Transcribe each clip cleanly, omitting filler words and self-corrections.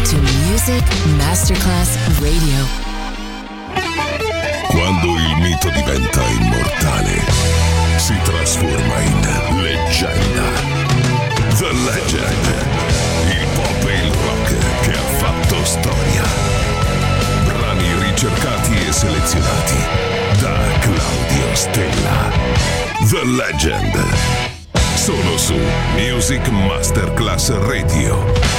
to Music Masterclass Radio. Quando il mito diventa immortale, si trasforma in leggenda. The Legend, il pop e il rock che ha fatto storia. Brani ricercati e selezionati da Claudio Stella. The Legend, solo su Music Masterclass Radio.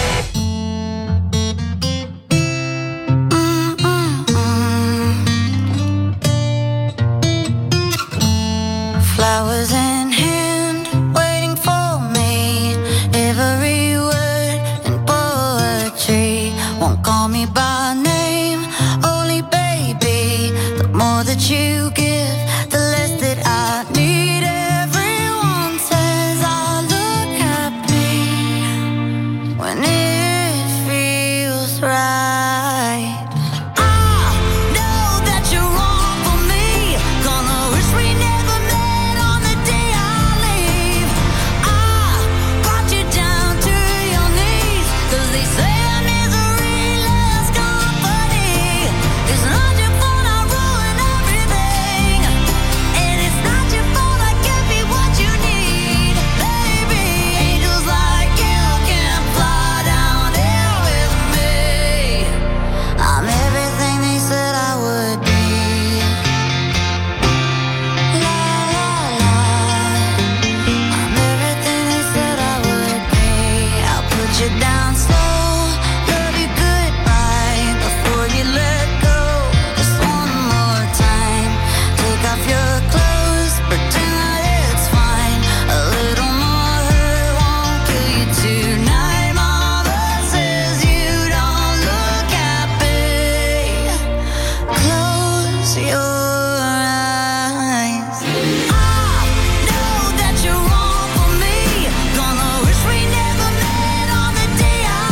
Flowers in hand, waiting for me. Every word in poetry. Won't call me by name, only baby. The more that you give, the less that I need. Everyone says I look happy when it feels right. Yeah.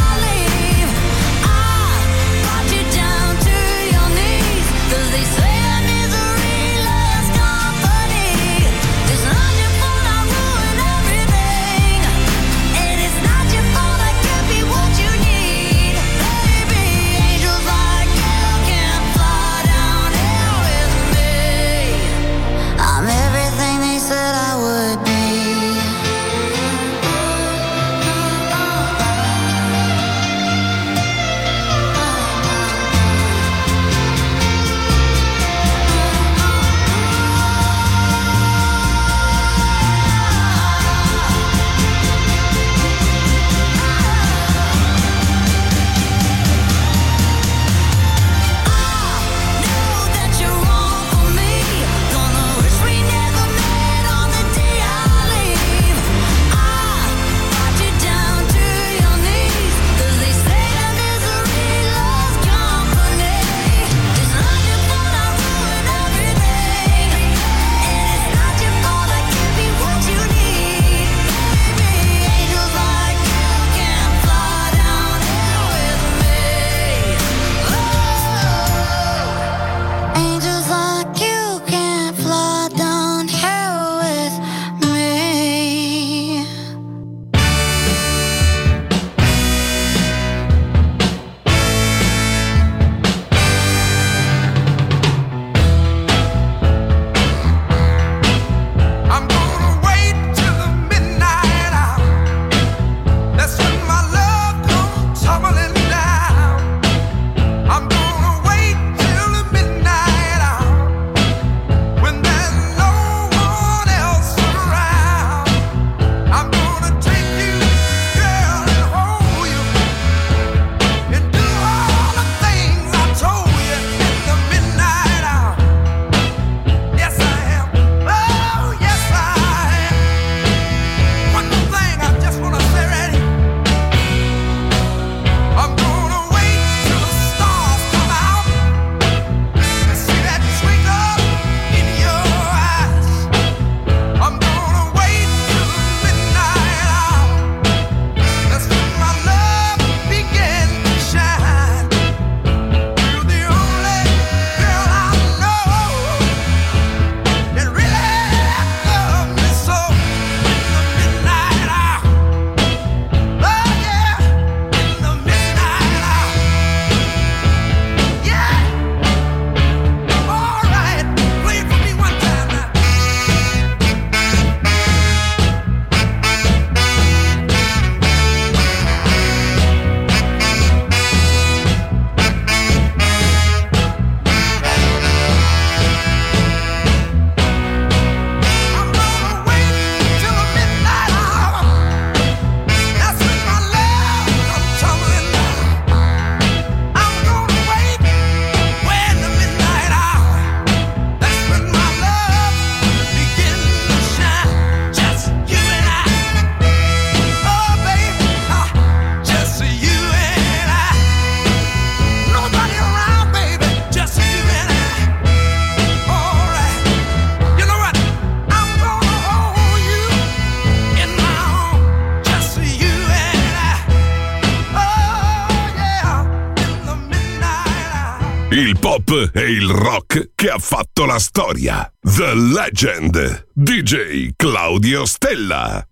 il pop e il rock che ha fatto la storia. The Legend, DJ Claudio Stella.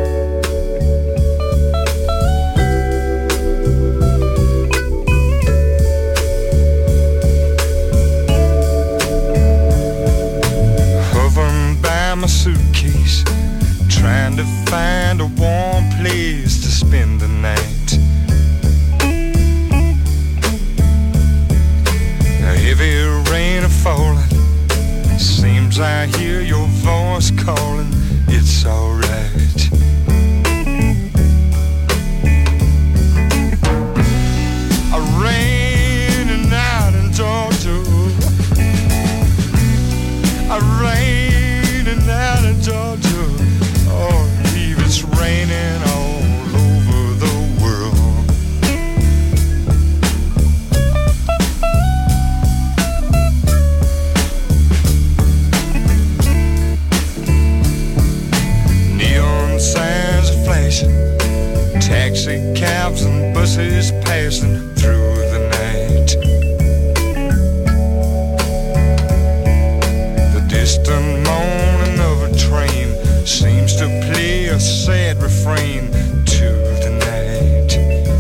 Hovering by my suitcase, trying to find a warm place to spend the night. Heavy rain a falling, seems I hear your voice calling. It's alright. A raining night in Georgia, a raining night in Georgia. Oh, Eve, it's raining all over the world. Signs are flashing, taxi cabs and buses passing through the night. The distant moaning of a train seems to play a sad refrain to the night.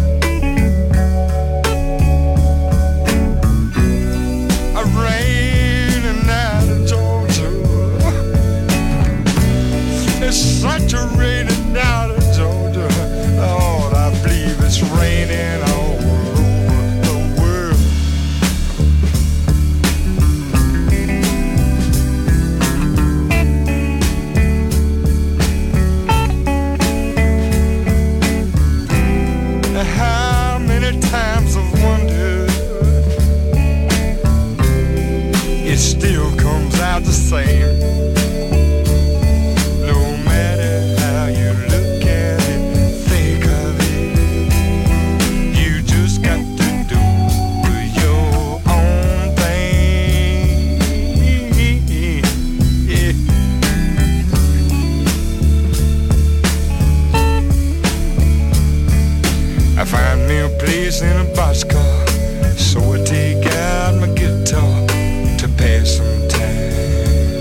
A rainy night in Georgia, it's such a rainy night in Georgia. Lord, I believe it's raining all over the world. How many times I've wondered, it still comes out the same. Find me a place in a boxcar, so I take out my guitar to pass some time.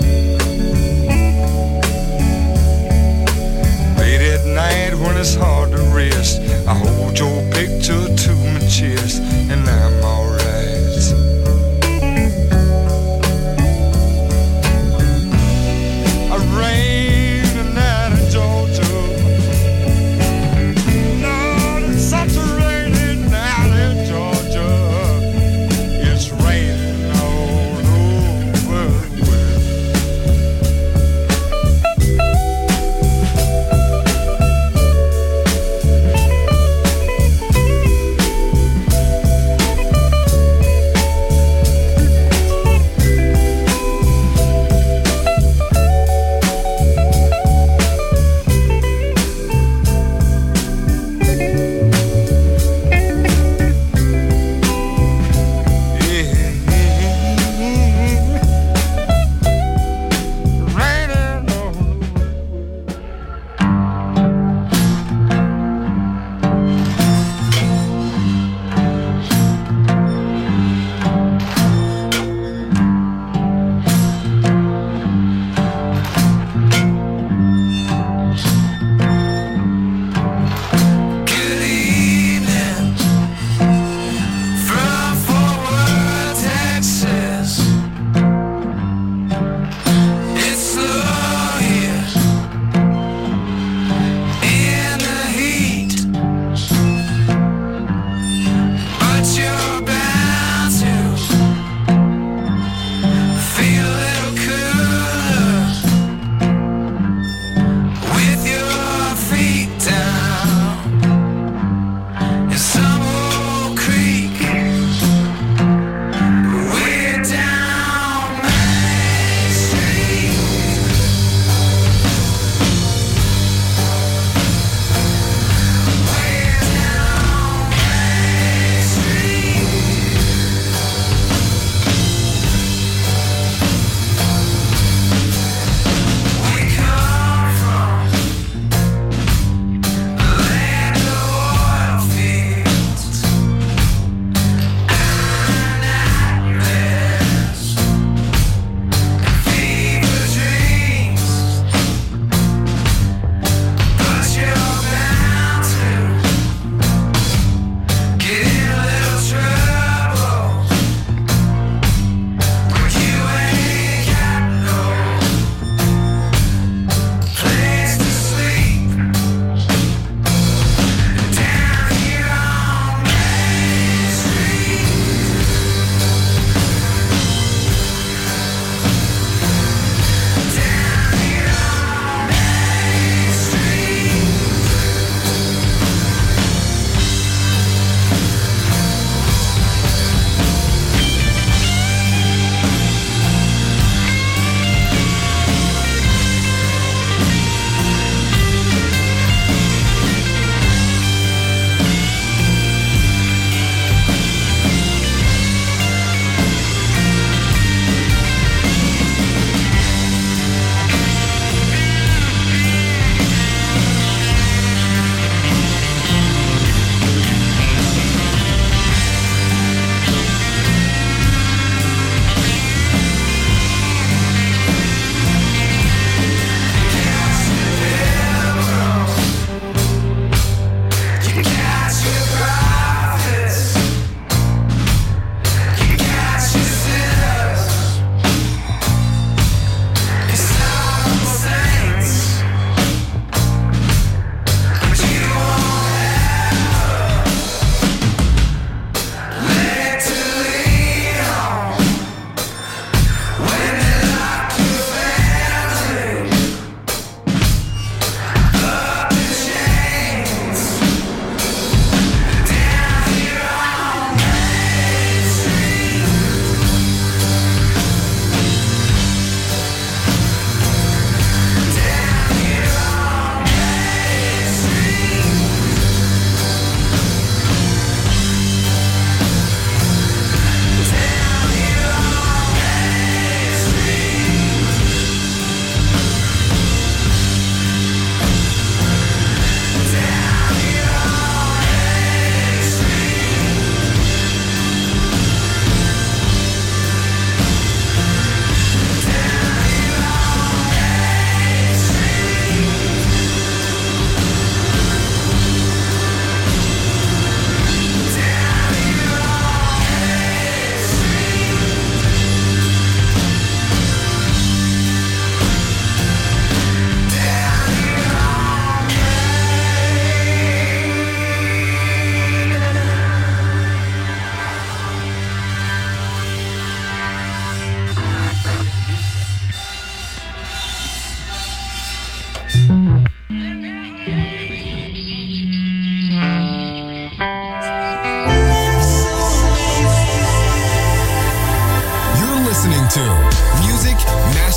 Late at night when it's hard to rest, I hold your picture to my chest and I'm alright. A rainy night in Georgia, such a rainy night in Georgia. It's raining all over the world.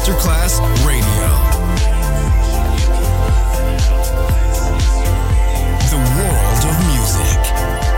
Masterclass Radio. The world of music.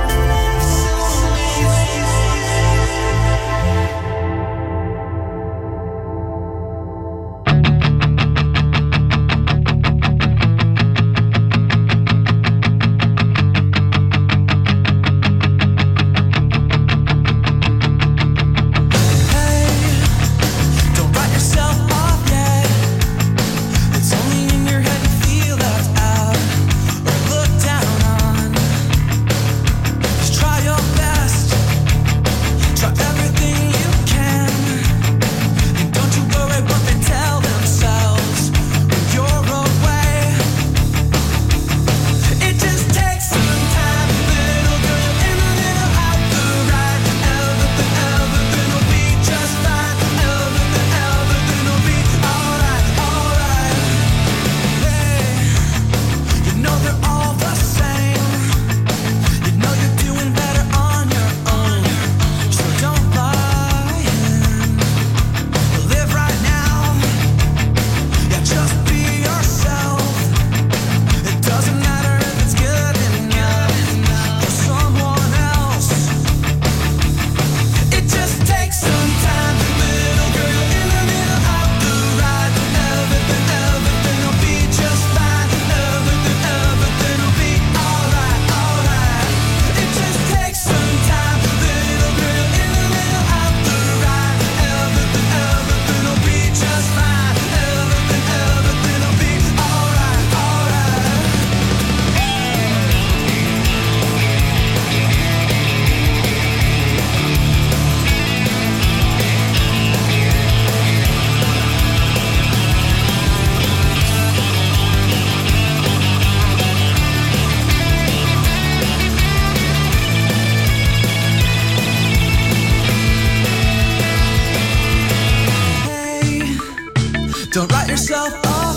Don't write yourself off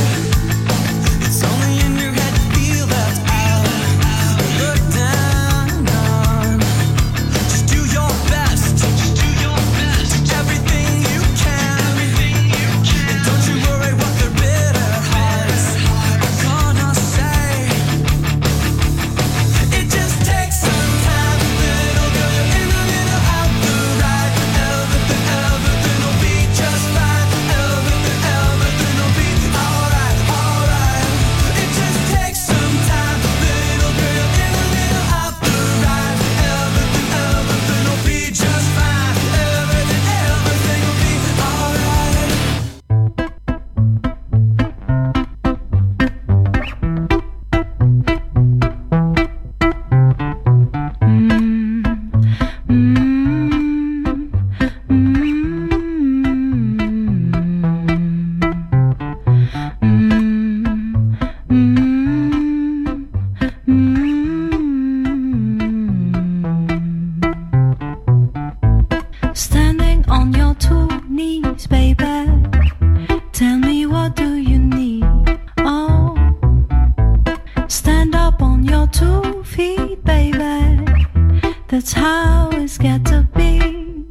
yet. It's only in your head to feel that's out. Look down on. Just do your best. Just do your best. Do everything you can. And don't you worry what their bitter hearts are gonna say. It just takes some time, little girl. You're in a little out the right. Everything will be just fine. Everything will be alright, alright. It just takes some time, little girl. You're in a little out the right. Everything will be just fine. Everything will be alright. Standing on your two knees, baby. Tell me, what do you need? Oh, stand up on your 2 feet, baby. That's how it's got to be.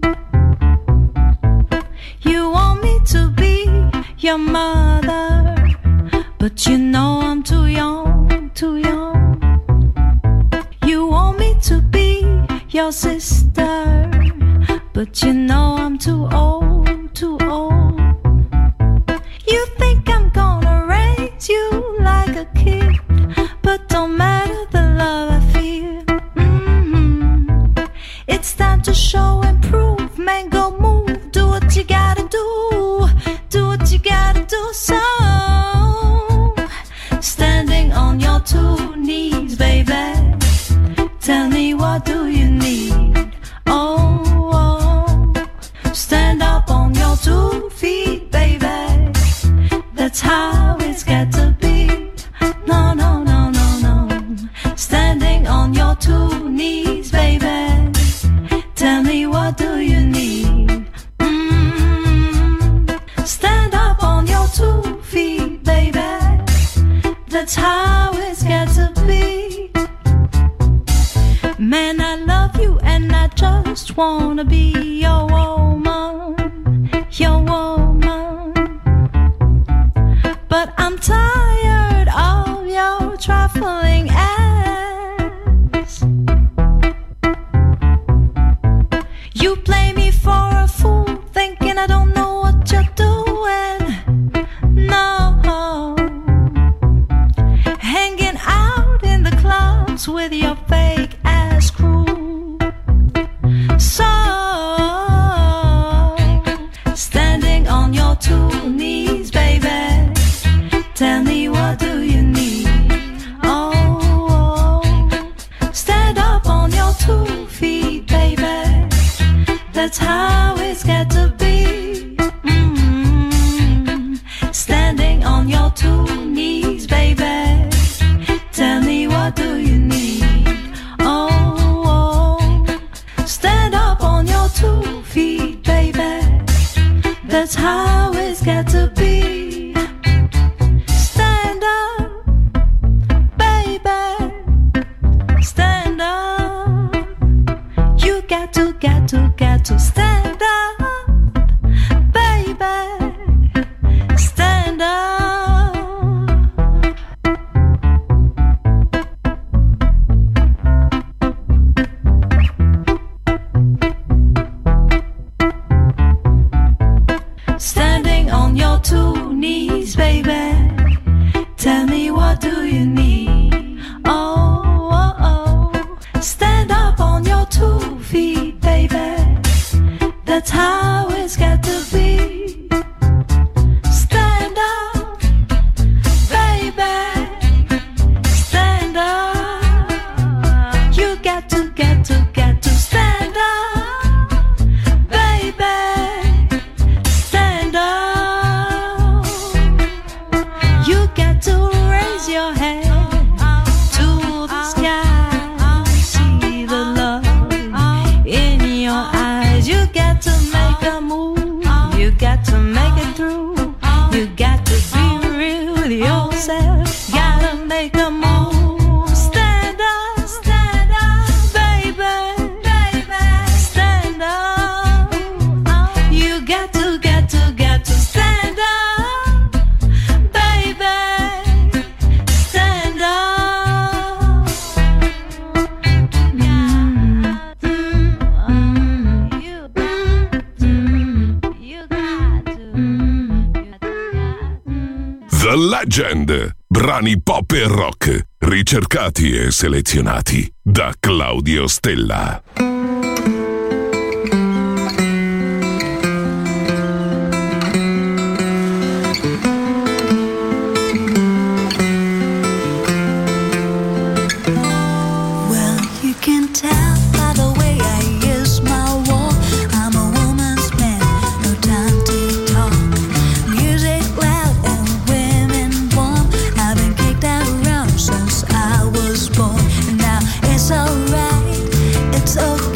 You want me to be your mother, but you know I'm too young, too young. You want me to be your sister, but you know I'm too old, too old. You think I'm gonna raise you like a kid, but don't matter the love I feel. It's time to show and prove, man, go move. Do what you gotta do, do what you gotta do. So, standing on your 2 knees, baby. Tell me, what do you need? Oh, stand up on your 2 feet, baby. That's how it's got to be. No, no, no, no, no. Standing on your 2 knees, baby. Tell me, what do you need? Stand up on your 2 feet, baby. That's how it's got to be. Man, I love you and I just wanna be your woman, your woman. your fake ass crew. So, standing on your two knees, baby, tell me what do you need? Oh, stand up on your 2 feet, baby, that's how it's got to be. Standing on your 2 knees, baby, tell me what do you need? Oh, stand up on your 2 feet, baby, that's how it's got to be. Stand up, baby, stand up. You got to stand up, baby, stand up. Standing on your 2 knees, baby, tell me what do you need? Oh, oh, oh. Stand up on your 2 feet, baby, that's how it's got to be. Stand up, baby, stand up. You got to stand up, baby, stand up. You got to raise your head to the sky, see the love in your eyes. You got to make a move, you got to make it through. You got to be real with yourself, gotta make a move. Stand up, baby, stand up. You got to stand up, baby, stand up. You got to. The Legend. Brani pop e rock, ricercati e selezionati da Claudio Stella. Well, you can tell by the way I use my walk. I'm a woman's man, no time to talk. Music loud and women warm. I've been kicked out around since I was born. And now it's alright, it's okay.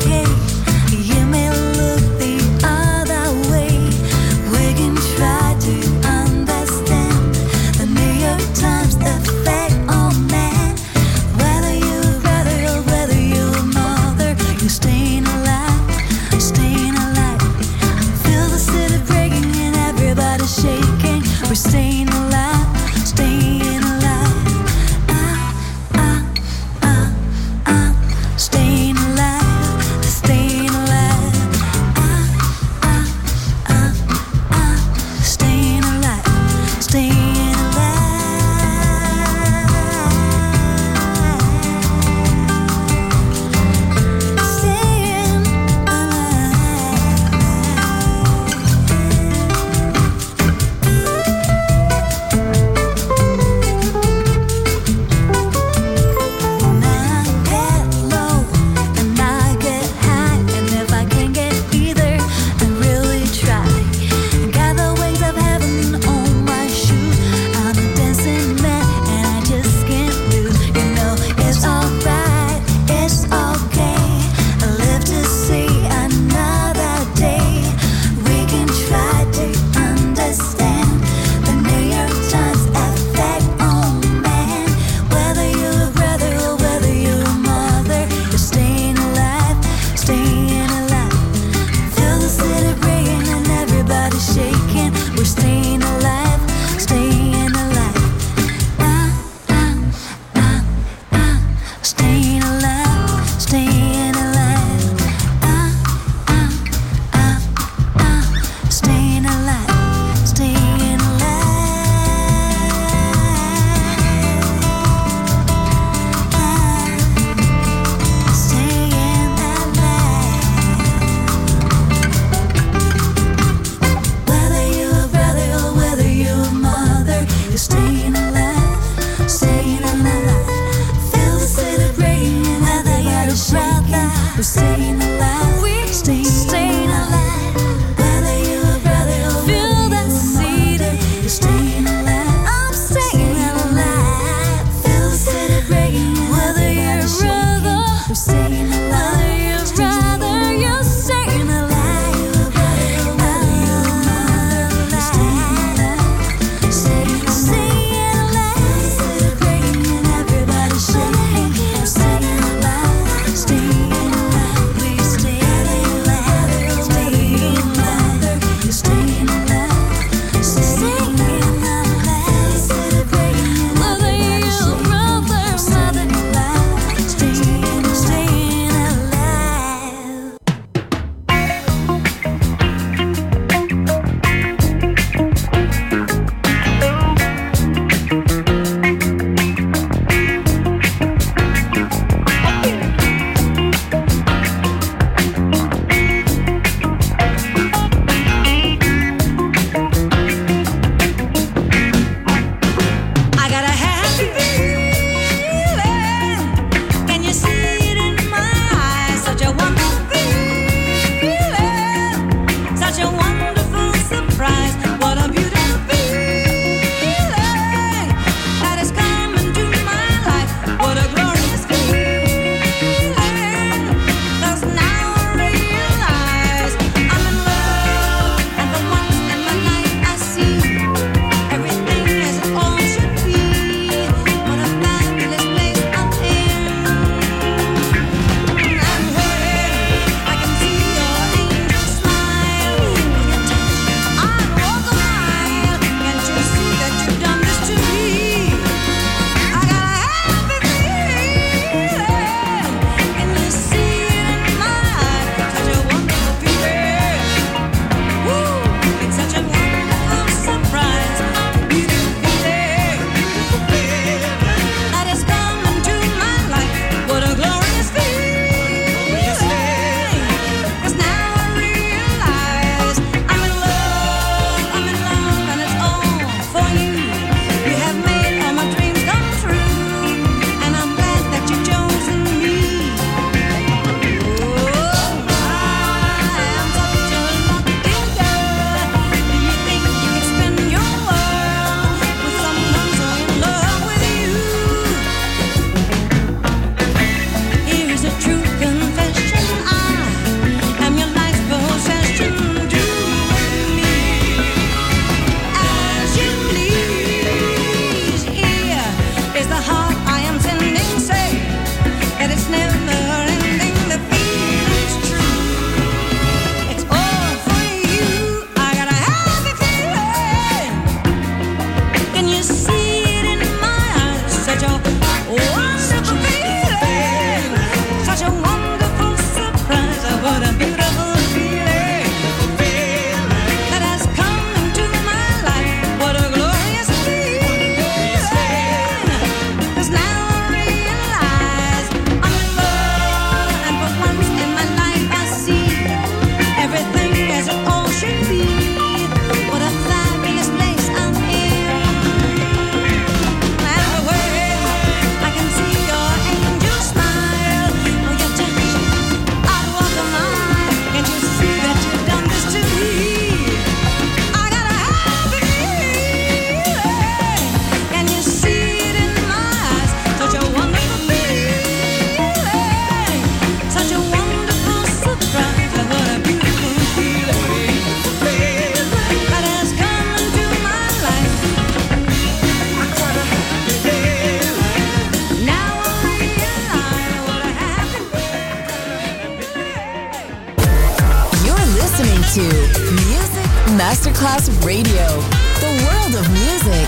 Masterclass Radio. The world of music.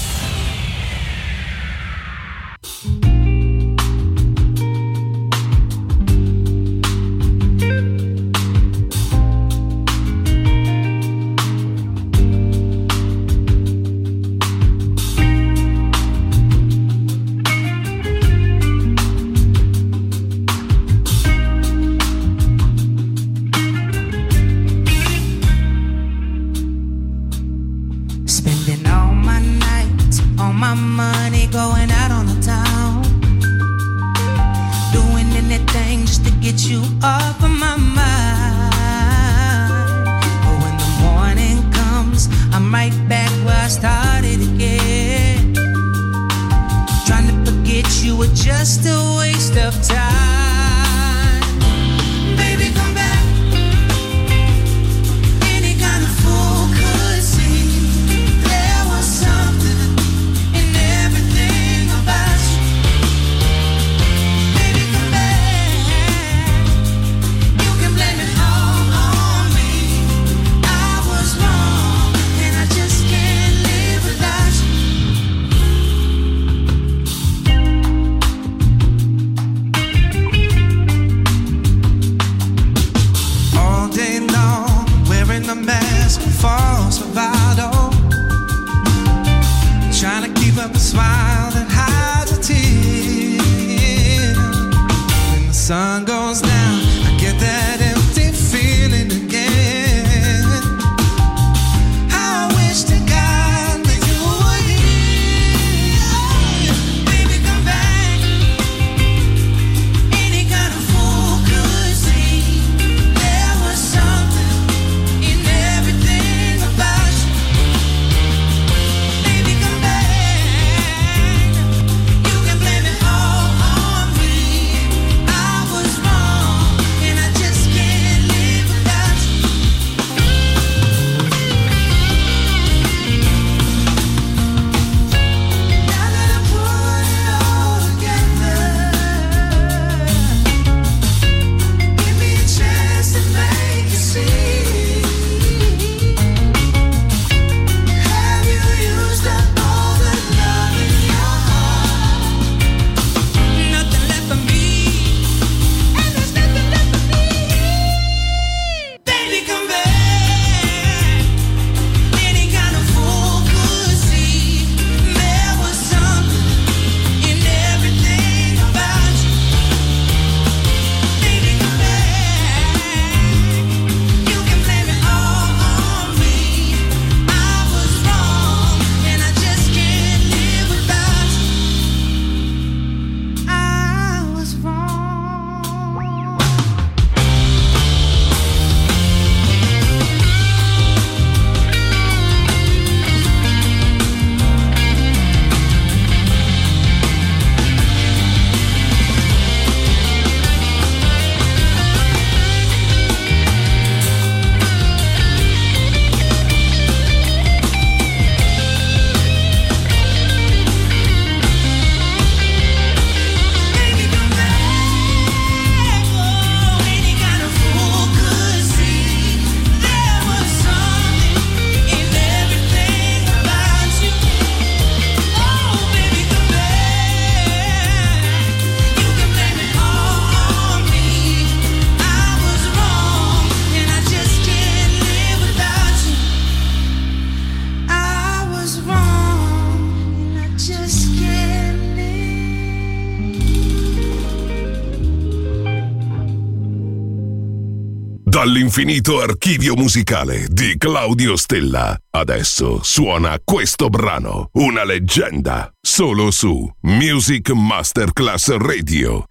Dall'infinito archivio musicale di Claudio Stella. Adesso suona questo brano, una leggenda, solo su Music Masterclass Radio.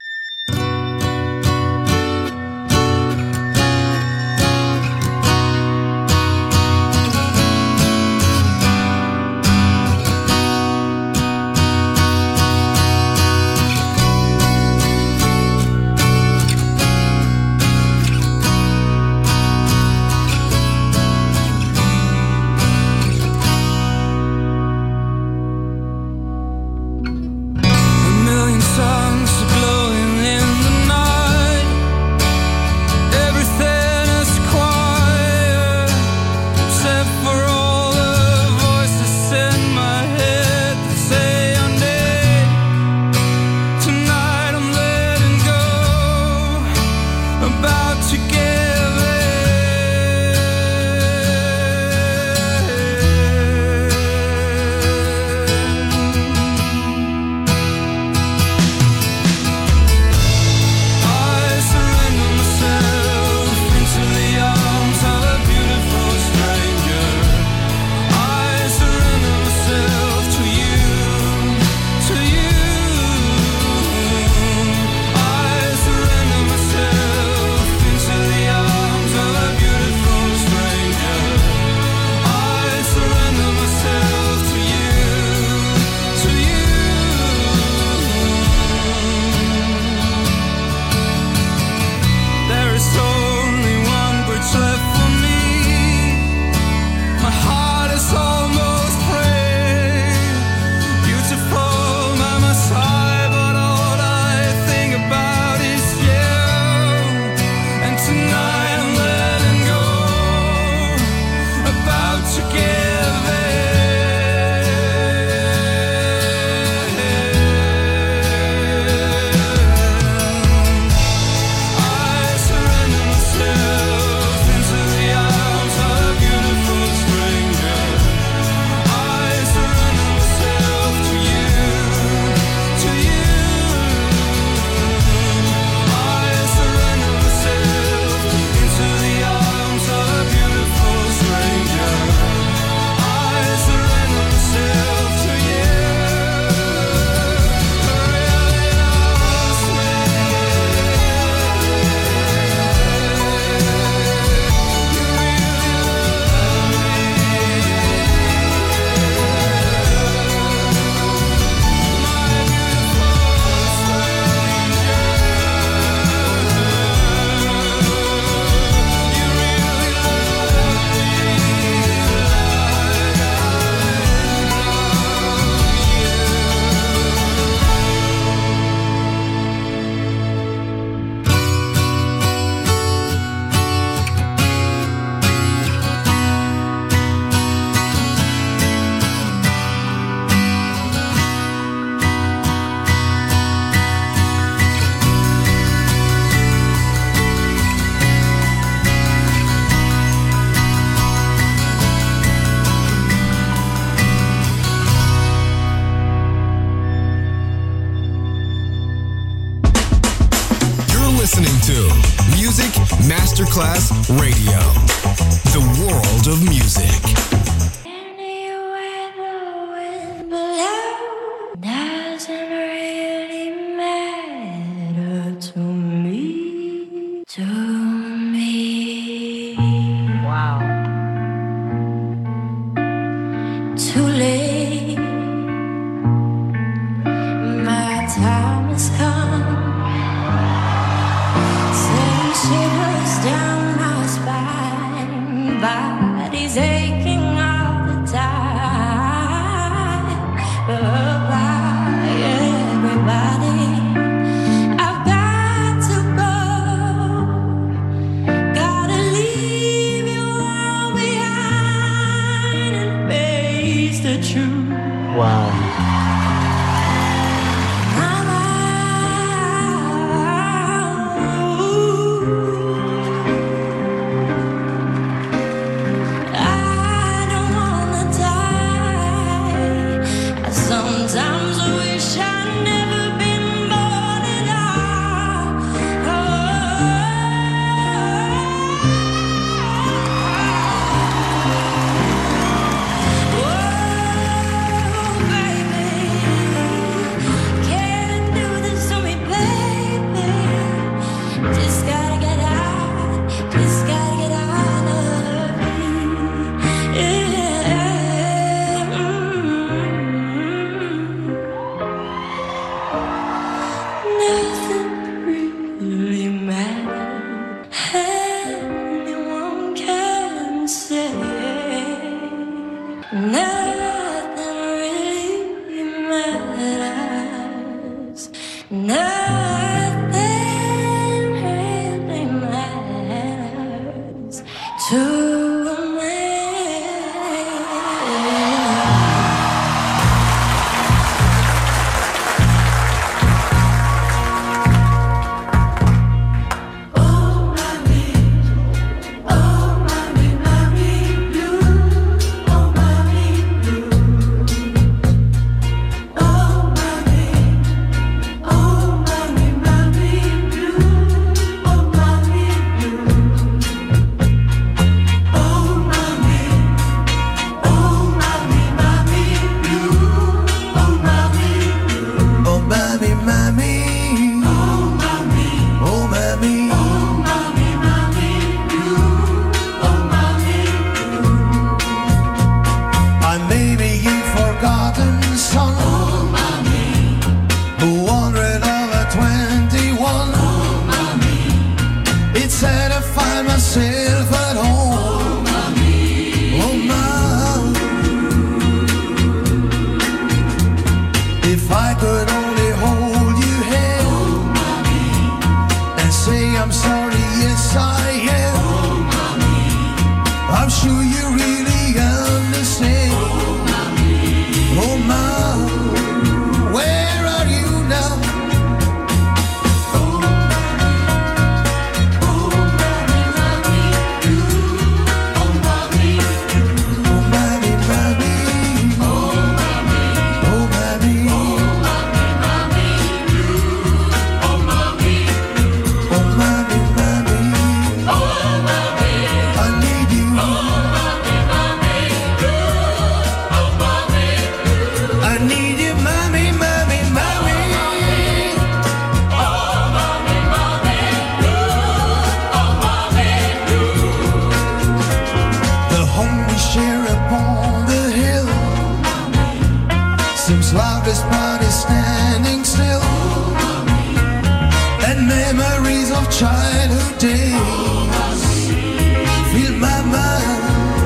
A million suns are glowing listening to Music Masterclass Radio. The world of music. Anywhere the wind blows doesn't really matter to me. To me. Wow. Too late. My time has come. Send shivers down my spine. Body's aching all the time. Goodbye, everybody. I've got to go. Gotta leave you all behind and face the truth. Wow. Sometimes I wish I'd never been born at all. Oh, baby, can't do this to me, baby. Just gotta get out, just gotta get out of here. Nothing really matters. Anyone can say. Nothing really matters. Nothing really matters to me. I may be a forgotten son, 121. It's sad to find myself at home. Oh, mom. If I could only hold you hand and say I'm sorry, yes I am. I'm sure you really understand. Oh, mom, where are you now? Loudest body standing still, and memories of childhood days fill my mind.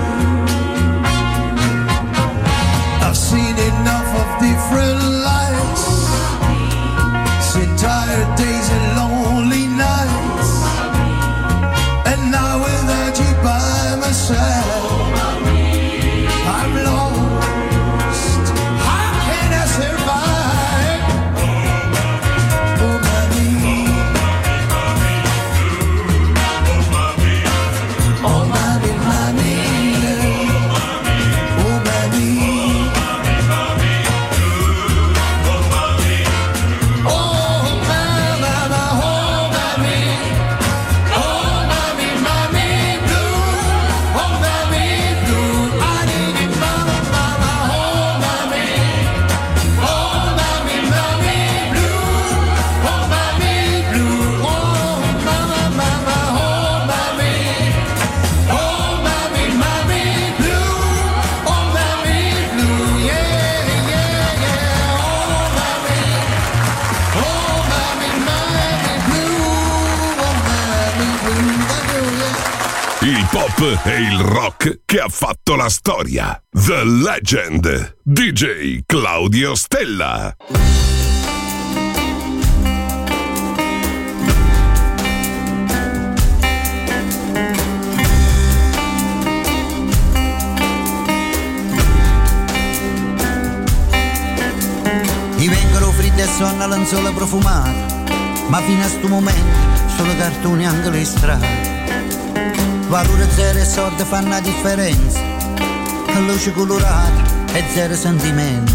I've seen enough of different lives, seen tired days and lonely nights, and now without you by my side, I'm lost. Survive. Oh, mommy. Il pop e il rock che ha fatto la storia. The Legend. DJ Claudio Stella. Ti vengono freddi e sonno lenzuola profumate, ma fino a sto momento solo cartoni anche le strade. Valore zero e soldi fanno la differenza, luce colorata e zero sentimenti.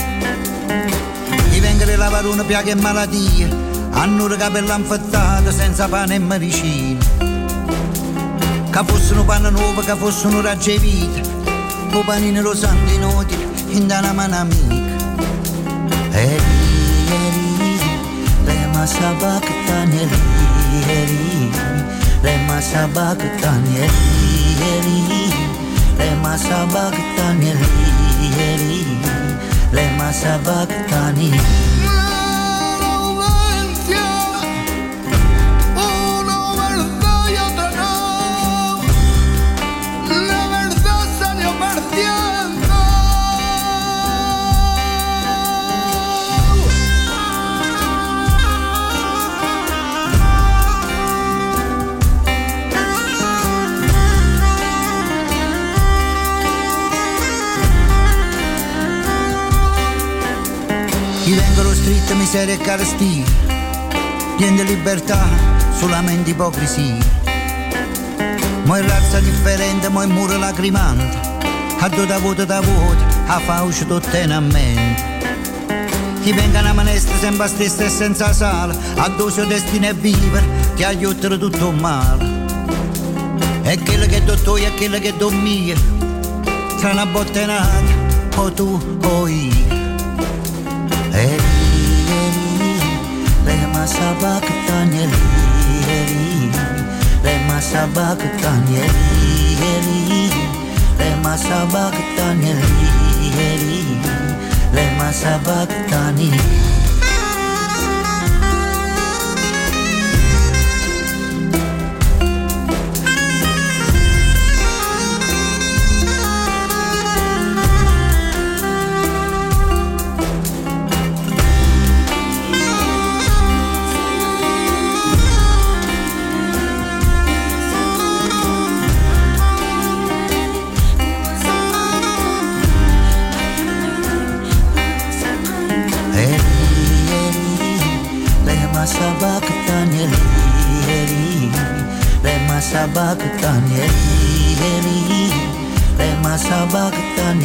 Ti vengono lavarone, piaghe e malattie, hanno le capelle infettate senza pane e medicina. Che fossero panno nuovo, che fossero raggi e vita, o panino lo sanno inutile in una mano amica. Le masabaktan le masabaktan le masabaktan le masabaktan. Ti vengono scritte miseria e carestia, niente libertà, solamente ipocrisia. Mo' è razza differente, mo' è muro lacrimante, a due da voto, a fauce tutte in mente. Ti vengono a manestra sempre a stessa e senza sale, a due suo destino è vivere, ti aiutano tutto male. E quello che do tu e quello che do mio, tra una bottenata, o tu o io. Le masabaktan le masabaktan le masabaktan le masabaktan. Masabaktan le masabaktan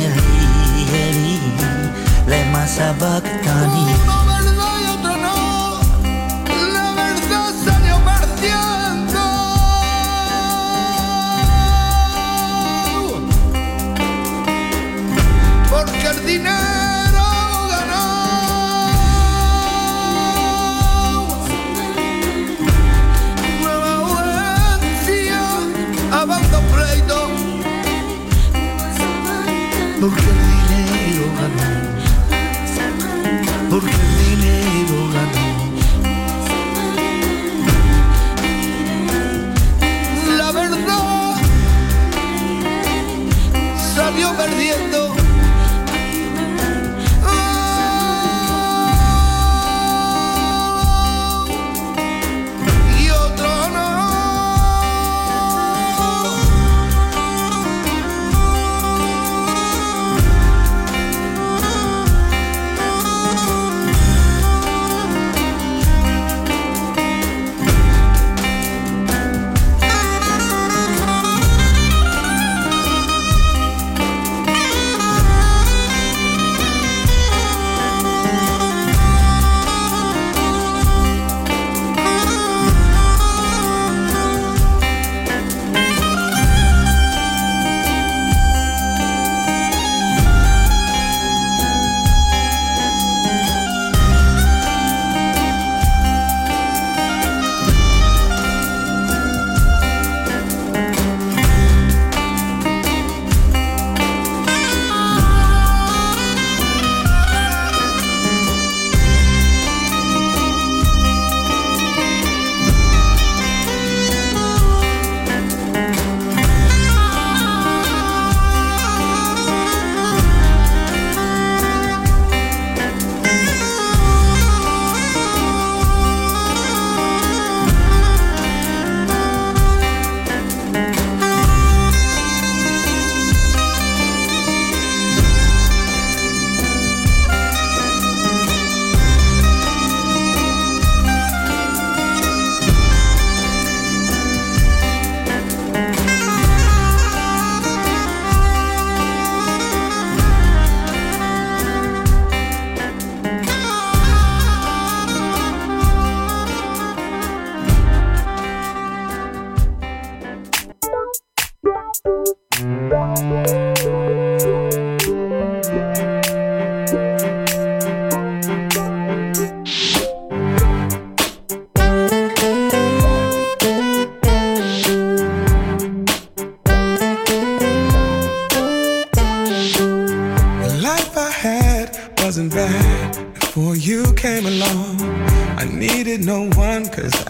le masabaktan. Una verdad y otra no, la verdad salió perdiendo. Porque el dinero ganó. Abando pleito, porque el dinero ganó, porque el dinero ganó. La verdad salió perdiendo. Y otro no.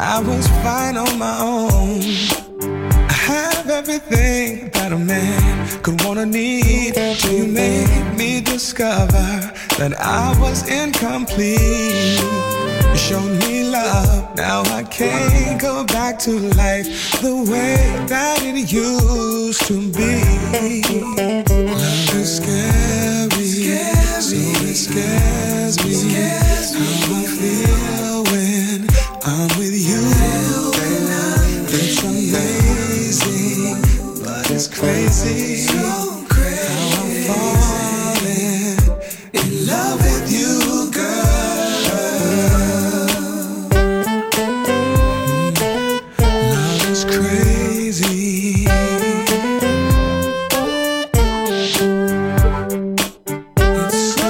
I was fine on my own. I have everything that a man could wanna need, till you made me discover that I was incomplete. You showed me love, now I can't go back to life the way that it used to be. Love is scary, so it scares me. How I feel when I'm with you. It's amazing, but it's crazy. How I'm falling in love with you, girl. Love is crazy. It's so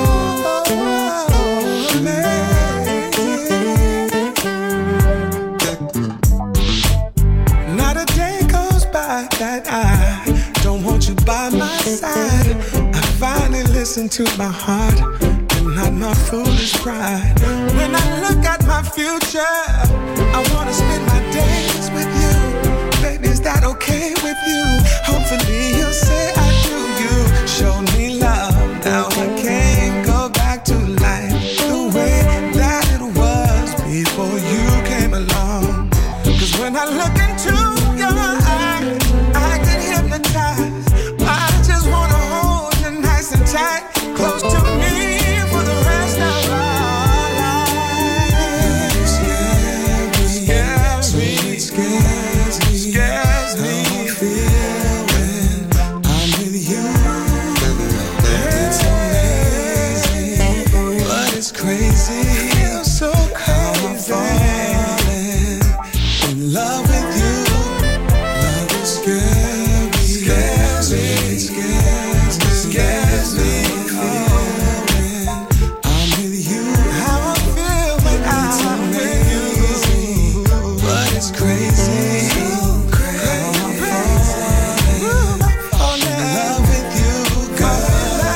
amazing. Not a day goes by that I don't want you by my side. I finally listen to my heart and not my foolish pride. When I look at my future, I wanna spend my days with you. Baby, is that okay with you? Hopefully you'll say I do. You showed me love, now I can't go back to life the way that it was before you came along. 'Cause when I look into your eyes, I get hypnotized. I just wanna hold you nice and tight, close to me for the rest of our lives. It scares me, scares me. How I feel when I'm with you. It's amazing, but it's crazy. Feels so crazy. I'm falling in love with you. Love is scary, scares me, scares me. When I'm with you, how I feel when I'm with you. But it's crazy. I'm falling in love with you, girl.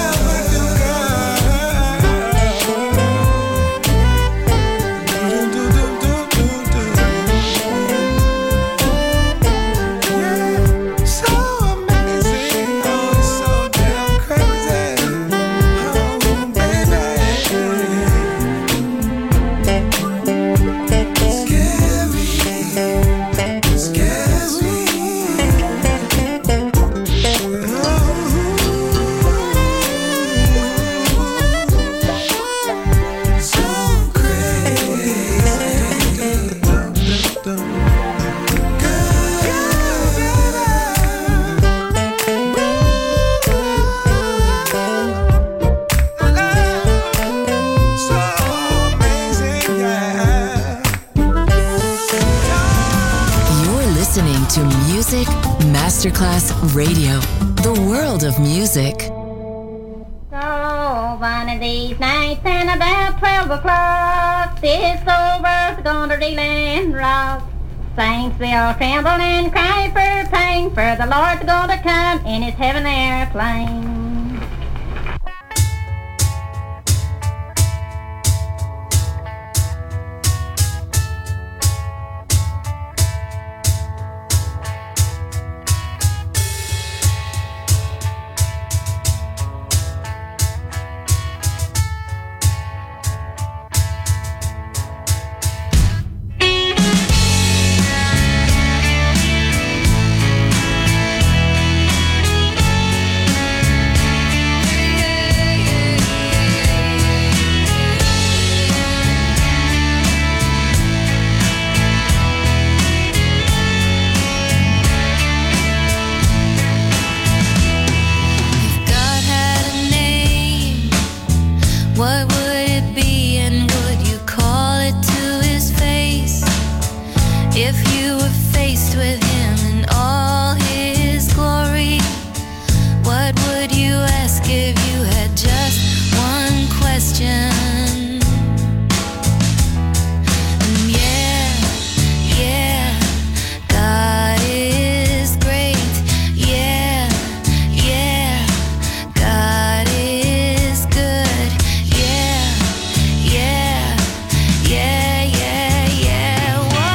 So amazing, oh, it's so damn crazy. Oh, baby. Scary, scares me. So You're listening to Music Masterclass Radio, the world of music. So one of these nights and about 12 o'clock, this old world's gonna reel and rock. Saints will tremble and cry for pain, for the Lord's gonna come in his heaven airplane. Yeah, yeah, yeah, yeah. Whoa.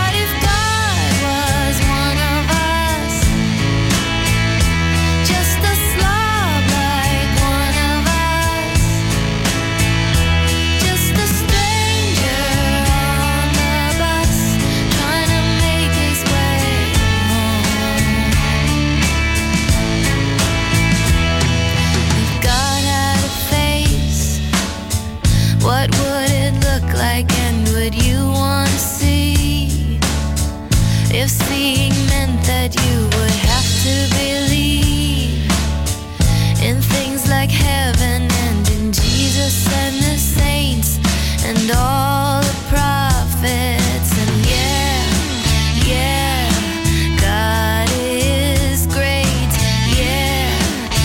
If seeing meant that you would have to believe in things like heaven and in Jesus and the saints and all the prophets, and yeah, God is great. Yeah,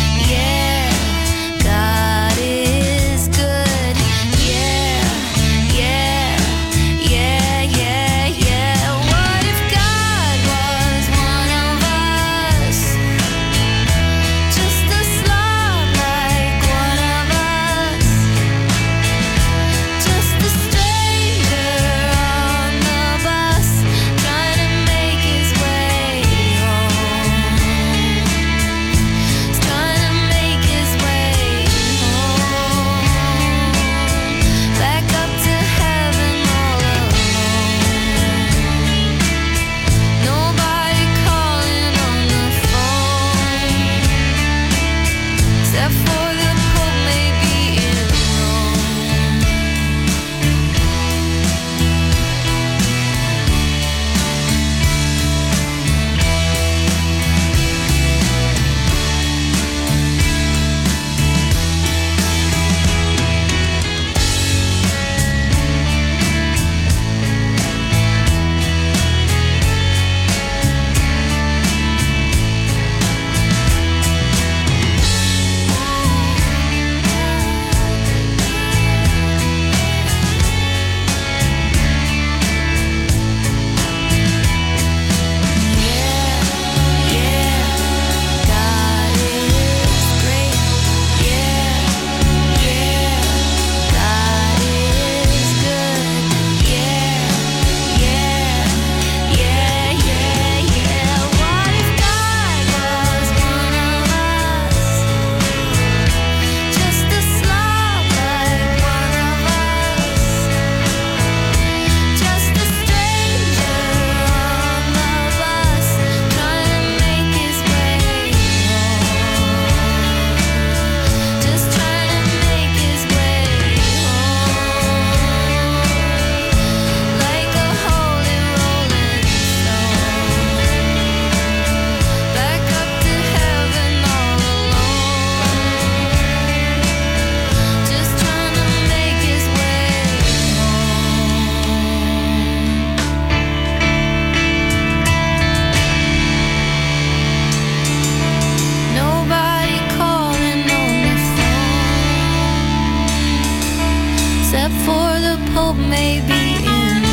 God is good. Yeah. What if God was one of us? Just a slob like one of us. Just a stranger on the bus, trying to make his way home. He's trying to make his way home. Back up to heaven all alone. Nobody calling on the phone, except for the Pope maybe in Rome. God is great. Yeah, God is good. Yeah. What if God was one of us? Just a slob like one of us. Just a stranger on the bus, trying to make his way home. Just trying to make his way home. Like a holy rolling stone. Back up to heaven all alone. Just trying to make his way home. Nobody calling on the phone, except for the Pope maybe in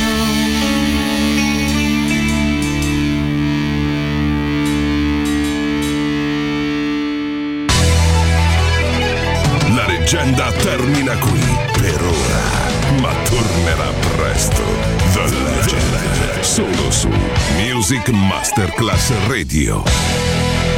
La leggenda termina qui per ora, ma tornerà presto. The Legend, solo su Music Masterclass Radio.